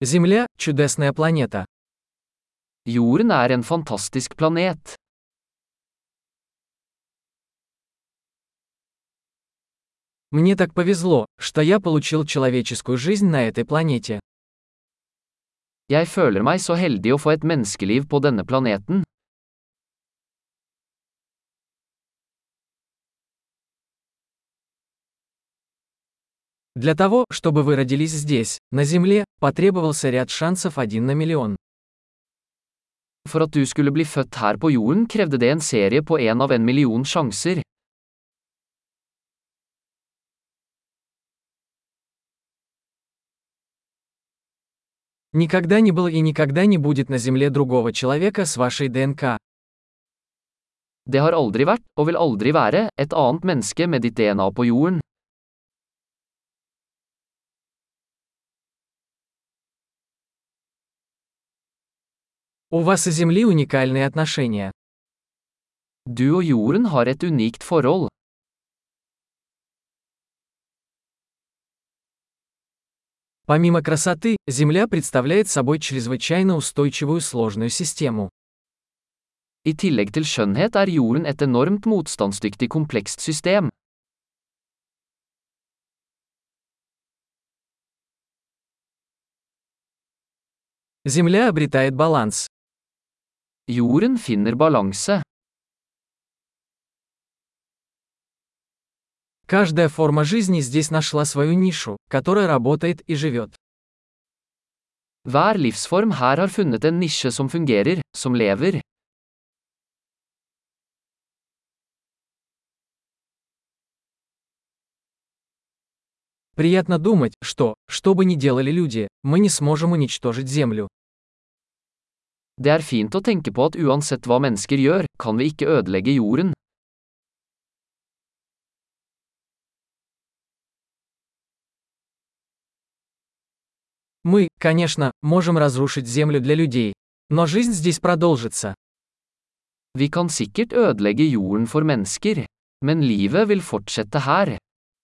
Земля– чудесная планета. Jorden er en fantastisk planet. Мне так повезло, что я получил человеческую жизнь на этой планете. Jeg føler meg så heldig å få et menneskeliv på denne planeten. Для того, чтобы вы родились здесь, на Земле, потребовался ряд шансов 1 на миллион. For at du skulle bli født her på jorden krevde det en serie på 1 av 1 million sjanser. Никогда не было и никогда не будет на Земле другого человека с вашей ДНК. Det har aldri vært, og vil aldri være, et annet menneske med ditt DNA på jorden. У вас и Земли уникальные отношения. Du og jorden har et unikt forhold. Помимо красоты, Земля представляет собой чрезвычайно устойчивую сложную систему. I tillegg til skjønnhet er jorden et enormt motstandsdyktig komplekst system. Земля обретает баланс. Jorden finner balanse. Каждая форма жизни здесь нашла свою нишу, которая работает и живет. Hver livsform her har funnet en nisje som fungerer, som lever. Приятно думать, что бы ни делали люди, мы не сможем уничтожить Землю. Det er fint å tenke på at uansett hva mennesker gjør, kan vi ikke ødelegge jorden. Мы, конечно, можем разрушить Землю для людей, но жизнь здесь продолжится. Vi kan sikkert ødelegge jorden for mennesker, men livet vil fortsette her.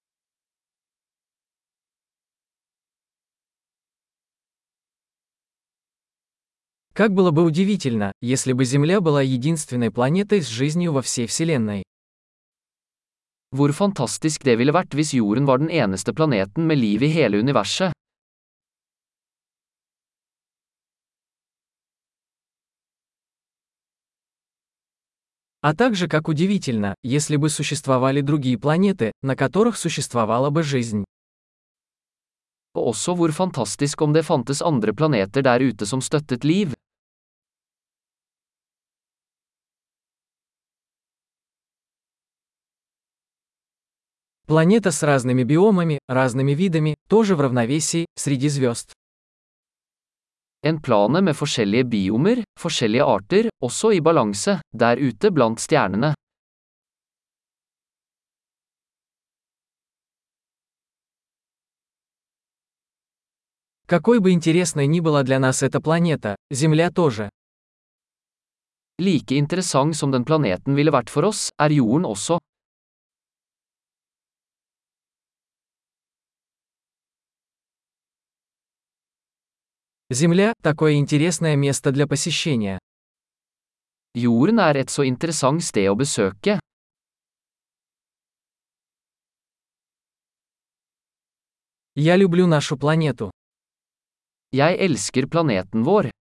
Как было бы удивительно, если бы Земля была единственной планетой с жизнью во всей Вселенной. Hvor fantastisk det ville vært hvis jorden var den eneste planeten med liv i hele universet. А также как удивительно, если бы существовали другие планеты, на которых существовала бы жизнь. Og også hvor fantastisk om det fantes andre planeter der ute som støttet liv. Планета с разными биомами, разными видами, тоже в равновесии, среди звезд. En plane med forskjellige biomer, forskjellige arter, også i balanse, der ute blant stjernene. Какой бы интересной ни была для нас эта планета, Земля тоже. Like interessant som den planeten ville vært for oss, er jorden også. Земля– такое интересное место для посещения. Jorden er et så interessant sted å besøke. Я люблю нашу планету. Jeg elsker planeten vår.